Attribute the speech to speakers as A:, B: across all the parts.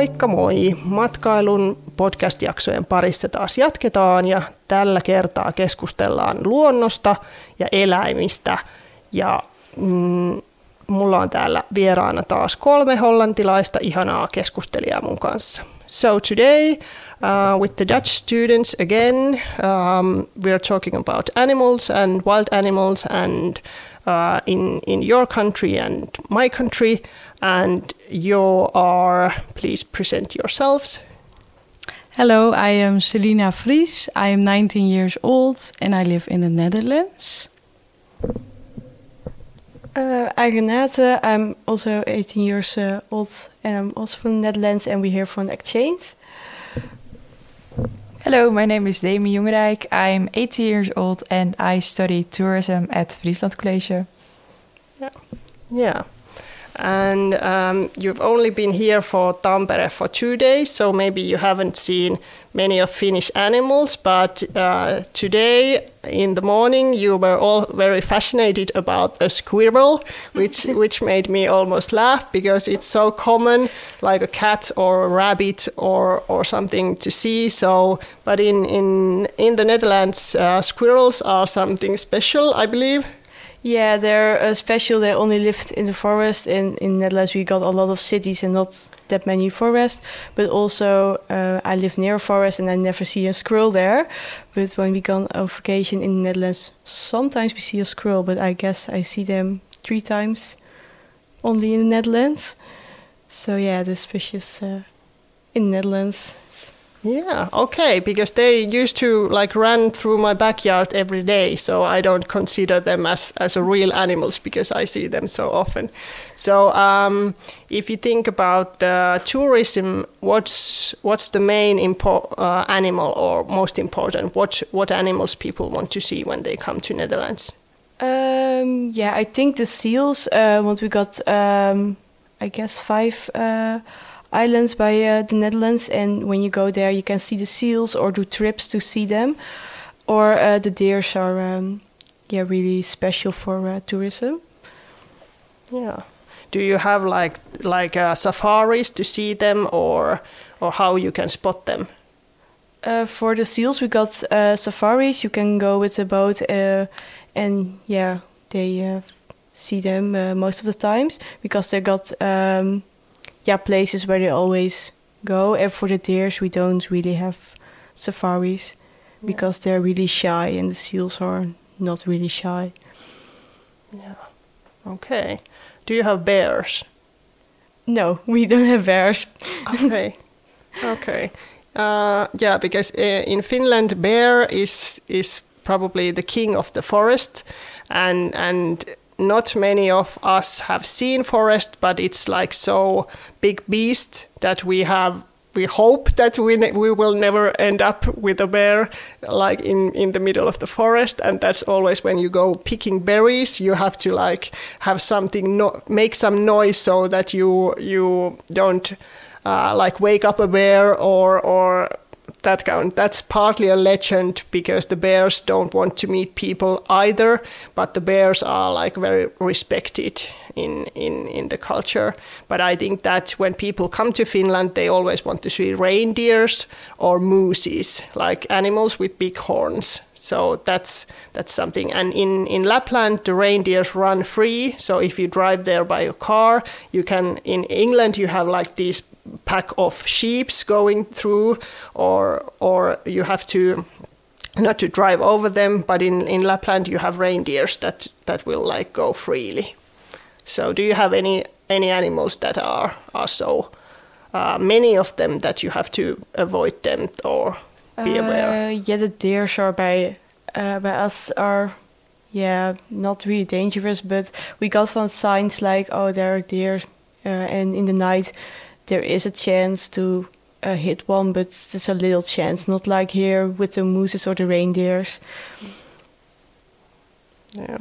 A: Moikka moi! Matkailun podcast-jaksojen parissa taas jatketaan ja tällä kertaa keskustellaan luonnosta ja eläimistä. Ja mulla on täällä vieraana taas 3 hollantilaista ihanaa keskustelijaa mun kanssa. So today, with the Dutch students again, we are talking about animals and wild animals and in your country and my country. And you are, please present yourselves.
B: Hello, I am Selina Vries. I am 19 years old and I live in the Netherlands.
C: I'm Renate. I'm also 18 years old and I'm also from the Netherlands and we're here for an exchange.
D: Hello, my name is Demi Jongerijk. I'm 18 years old and I study tourism at Friesland College.
A: Yeah. And you've only been here for Tampere for 2 days, so maybe you haven't seen many of Finnish animals, but today in the morning you were all very fascinated about a squirrel, which made me almost laugh because it's so common, like a cat or a rabbit or something to see. So, but in the Netherlands, squirrels are something special, I believe.
C: Yeah, they're special. They only lived in the forest. In Netherlands, we got a lot of cities and not that many forests. But also, I live near a forest and I never see a squirrel there. But when we go on vacation in the Netherlands, sometimes we see a squirrel. But I guess I see them 3 times only in the Netherlands. So yeah, they're species in the Netherlands.
A: Yeah, okay, because they used to like run through my backyard every day, so I don't consider them as real animals because I see them so often. So if you think about tourism, what's the main animal or most important? What animals people want to see when they come to Netherlands?
C: Yeah, I think the seals. Once we got, I guess 5. Islands by the Netherlands, and when you go there you can see the seals or do trips to see them, or the deers are really special for tourism.
A: Yeah. Do you have like safaris to see them, or how you can spot them?
C: For the seals we got safaris. You can go with a boat and they see them most of the times because they got places where they always go. And for the deers, we don't really have safaris because they're really shy and the seals are not really shy.
A: Yeah. Okay. Do you have bears?
C: No, we don't have bears.
A: Okay. Okay. Because in Finland, bear is probably the king of the forest, and not many of us have seen forest, but it's like so big beast that we hope that we will never end up with a bear like in the middle of the forest. And that's always when you go picking berries, you have to like have something, make some noise so that you don't like wake up a bear or that kind. That's partly a legend because the bears don't want to meet people either, but the bears are like very respected in the culture. But I think that when people come to Finland, they always want to see reindeers or mooses, like animals with big horns. So that's something. And in Lapland, the reindeers run free. So if you drive there by a car, you can. In England, you have like these pack of sheeps going through, or you have to not to drive over them. But in Lapland, you have reindeers that will like go freely. So do you have any animals that are so many of them that you have to avoid them or be aware?
C: The deers are by us are not really dangerous, but we got some signs like, oh, there are deer, and in the night there is a chance to hit one, but there's a little chance, not like here with the mooses or the reindeers.
A: Yeah.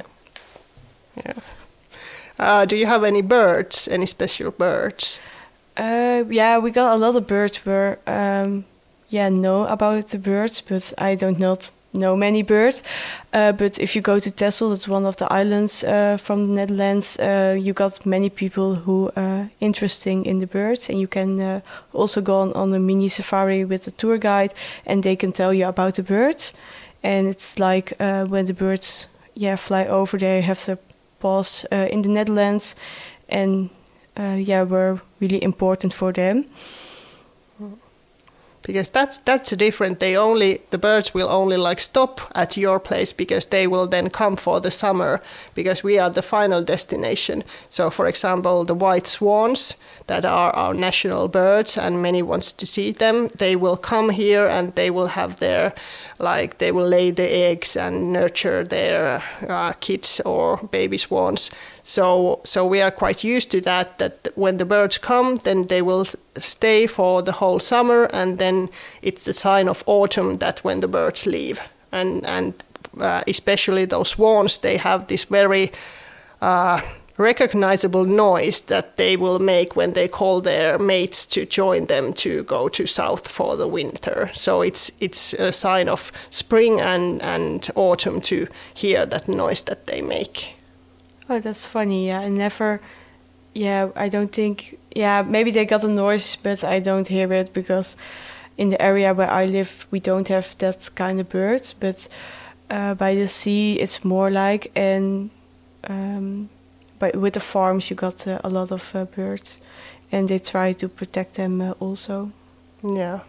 A: Do you have any birds, any special birds?
C: We got a lot of birds. Know about the birds, but I don't know know many birds. But if you go to Texel, that's one of the islands from the Netherlands, you got many people who are interesting in the birds, and you can also go on a mini safari with a tour guide, and they can tell you about the birds. And it's like when the birds fly over, they have to pause in the Netherlands, and we're really important for them.
A: Because that's different. The birds will only like stop at your place because they will then come for the summer, because we are the final destination. So for example, the white swans that are our national birds and many wants to see them, they will come here and they will have they will lay the eggs and nurture their kids or baby swans. So we are quite used to that when the birds come, then they will stay for the whole summer, and then it's a sign of autumn that when the birds leave. And especially those swans, they have this very recognizable noise that they will make when they call their mates to join them to go to south for the winter. So it's a sign of spring and autumn to hear that noise that they make.
C: Oh, that's funny. I don't think, maybe they got a noise, but I don't hear it because in the area where I live, we don't have that kind of birds. But by the sea, it's more like, but with the farms, you got a lot of birds, and they try to protect them also.
A: Yeah.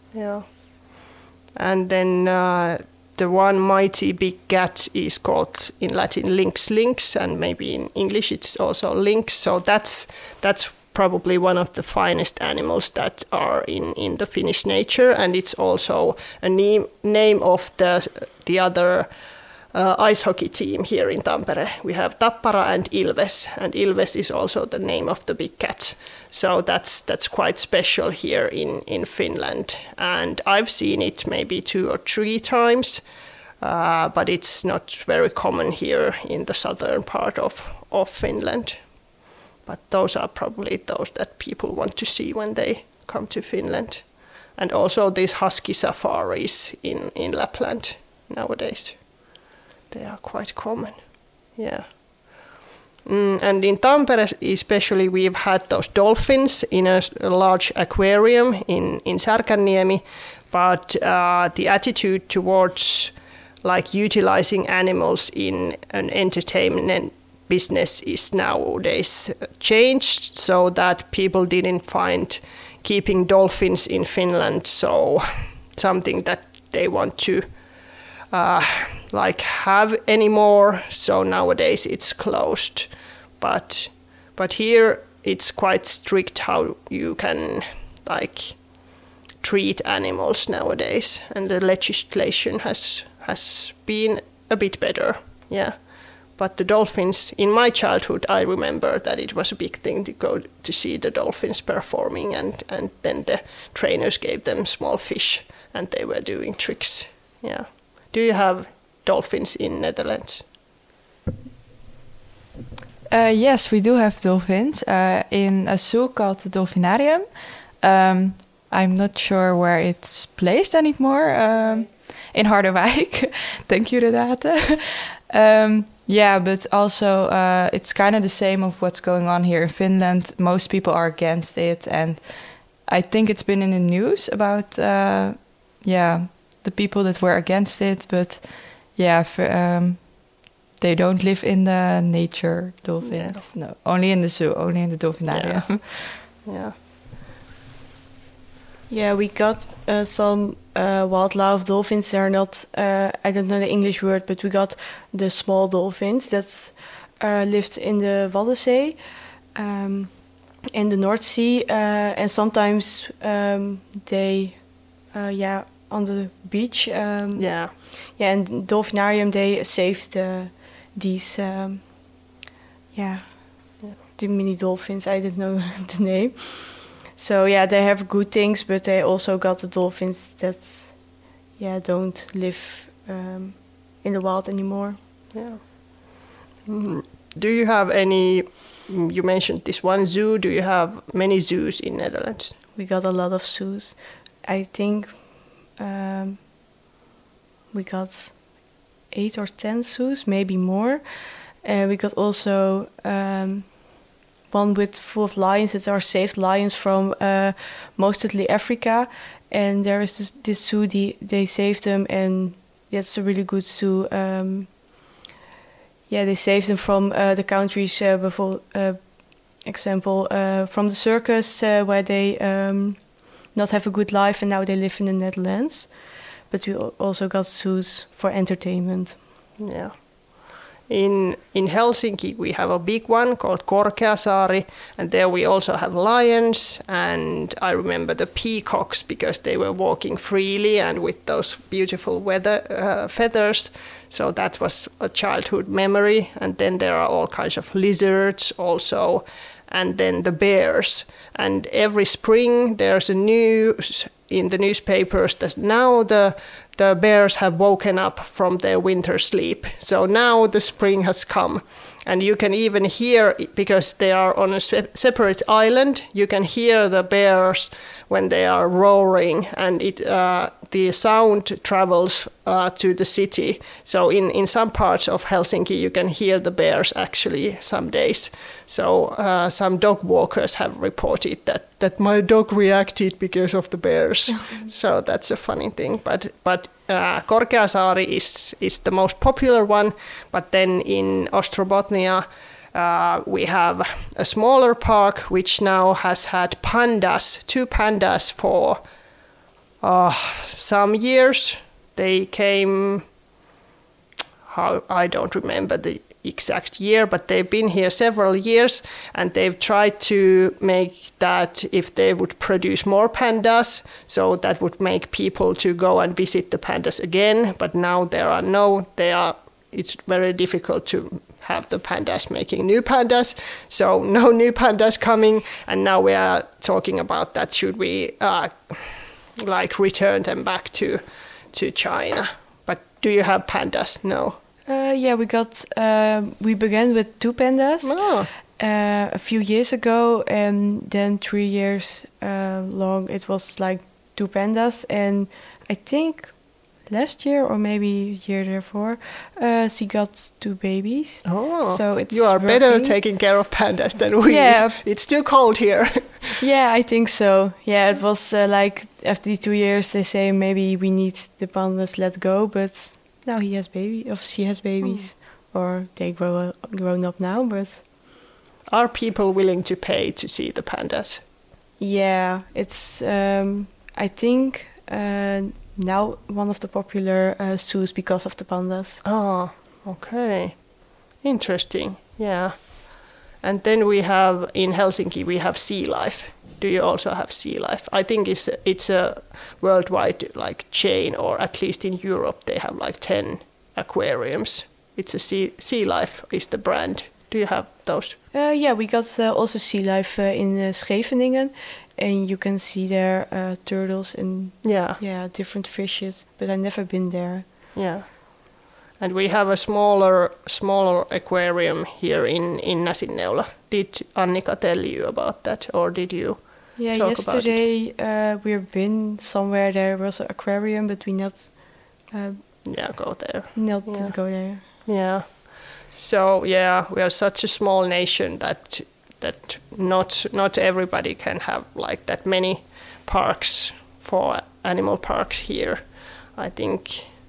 A: And then the one mighty big cat is called in Latin lynx, and maybe in English it's also lynx. So that's probably one of the finest animals that are in the Finnish nature, and it's also a name of the other ice hockey team here in Tampere. We have Tappara and Ilves is also the name of the big cat. So that's quite special here in Finland. And I've seen it maybe 2 or 3 times, but it's not very common here in the southern part of Finland. But those are probably those that people want to see when they come to Finland. And also these husky safaris in Lapland nowadays. They are quite common, yeah. And in Tampere especially, we've had those dolphins in a large aquarium in Särkänniemi, but the attitude towards like utilizing animals in an entertainment business is nowadays changed, so that people didn't find keeping dolphins in Finland so something that they want to have anymore. So nowadays it's closed, but here it's quite strict how you can treat animals nowadays, and the legislation has been a bit better, yeah. But the dolphins, in my childhood, I remember that it was a big thing to go to see the dolphins performing, and then the trainers gave them small fish and they were doing tricks, yeah. Do you have dolphins in Netherlands?
D: Yes, we do have dolphins in a zoo called the Dolphinarium. I'm not sure where it's placed anymore. In Harderwijk. Thank you, Renate. But also it's kind of the same of what's going on here in Finland. Most people are against it, and I think it's been in the news about the people that were against it, but they don't live in the nature dolphins. No, only in the zoo, only in the Dolphinarium.
C: Yeah, we got some wildlife dolphins. They're not, I don't know the English word, but we got the small dolphins that lived in the Waddenzee, in the North Sea, and sometimes they, on the beach. And Dolphinarium, they saved these, the mini dolphins. I didn't know the name. So they have good things, but they also got the dolphins that, don't live in the wild anymore.
A: Yeah. Do you have any? You mentioned this one zoo. Do you have many zoos in Netherlands?
C: We got a lot of zoos. I think we got 8 or 10 zoos, maybe more. We got also one with full of lions that are saved lions from mostly Africa. And there is this zoo, they saved them, and that's a really good zoo. They saved them from the countries, example, from the circus, where they not have a good life, and now they live in the Netherlands. But we also got zoos for entertainment.
A: Yeah. In Helsinki, we have a big one called Korkeasaari, and there we also have lions, and I remember the peacocks because they were walking freely and with those beautiful feathers. So that was a childhood memory. And then there are all kinds of lizards also, and then the bears. And every spring there's a news in the newspapers that now the bears have woken up from their winter sleep. So now the spring has come. And you can even hear, because they are on a separate island, you can hear the bears when they are roaring, and the sound travels to the city. So in some parts of Helsinki, you can hear the bears actually some days. So some dog walkers have reported that my dog reacted because of the bears. So that's a funny thing. But Korkeasaari is the most popular one. But then in Ostrobothnia, we have a smaller park which now has had two pandas for some years. They came, I don't remember the exact year, but they've been here several years, and they've tried to make that if they would produce more pandas, so that would make people to go and visit the pandas again. But now it's very difficult to have the pandas making new pandas, so no new pandas coming. And now we are talking about that, should we return them back to China. But do you have pandas? No.
C: We began with 2 pandas a few years ago, and then 3 years long it was like 2 pandas, and I think last year or maybe year before, she got 2 babies.
A: Oh,
C: so it's
A: you are better taking care of pandas than we.
C: Yeah,
A: it's too cold here.
C: Yeah, I think so. Yeah, it was like after the 2 years they say maybe we need the pandas let go, but now she has babies, or they grown up now. But
A: are people willing to pay to see the pandas?
C: Yeah, it's I think now one of the popular zoos because of the pandas.
A: Oh, okay, interesting. Yeah, and then we have in Helsinki we have Sea Life. Do you also have Sea Life? I think it's a worldwide chain, or at least in Europe they have 10 aquariums. It's a Sea Life is the brand. Do you have those?
C: We got also Sea Life in Scheveningen, and you can see there turtles and different fishes. But I've never been there.
A: Yeah, and we have a smaller aquarium here in Näsinneula. Did Annika tell you about that, or did you?
C: Yeah, yesterday we've been somewhere. There was an aquarium, but we not.
A: Go there.
C: Just go there.
A: Yeah. So we are such a small nation that not everybody can have that many parks for animal parks here. I think.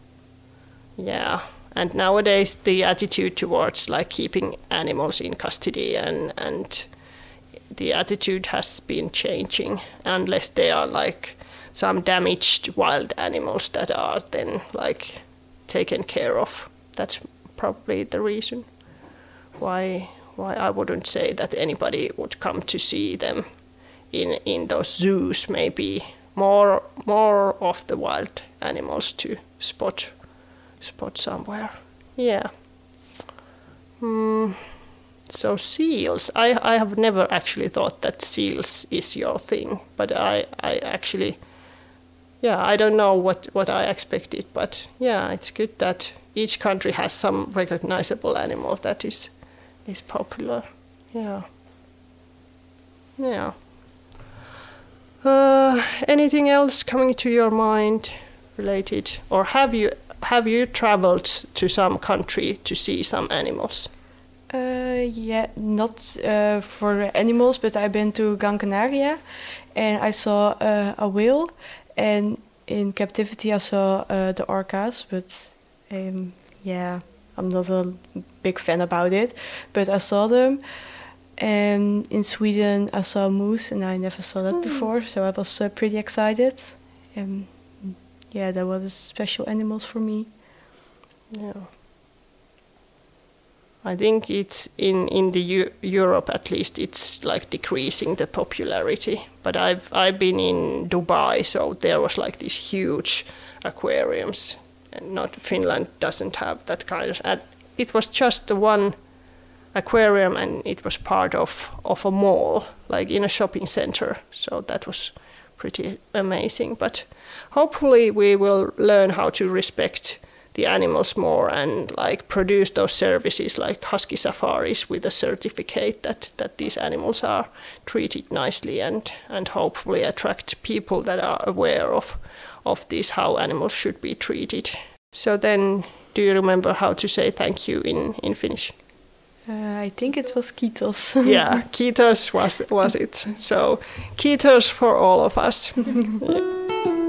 A: Yeah. And nowadays the attitude towards keeping animals in custody and the attitude has been changing, unless they are some damaged wild animals that are then taken care of. That's probably the reason why I wouldn't say that anybody would come to see them in those zoos. Maybe more of the wild animals to spot somewhere. Yeah. So seals. I have never actually thought that seals is your thing, but I actually, I don't know what I expected, but it's good that each country has some recognizable animal that is popular. Yeah. Anything else coming to your mind related, or have you traveled to some country to see some animals?
C: Yeah, not for animals, but I've been to Gran Canaria, and I saw a whale, and in captivity I saw the orcas, but yeah, I'm not a big fan about it, but I saw them. And in Sweden I saw a moose, and I never saw that before, so I was pretty excited. Yeah, that was special animals for me.
A: Yeah. I think it's in the Europe at least, it's like decreasing the popularity. But I've been in Dubai, so there was like these huge aquariums, and not Finland doesn't have that kind of. It was just the one aquarium, and it was part of a mall, like in a shopping center. So that was pretty amazing. But hopefully we will learn how to respect the animals more and like produce those services like husky safaris with a certificate that these animals are treated nicely, and hopefully attract people that are aware of this, how animals should be treated. So then, do you remember how to say thank you in Finnish?
C: I think it was kiitos.
A: Yeah, kiitos was it. So kiitos for all of us. Yeah.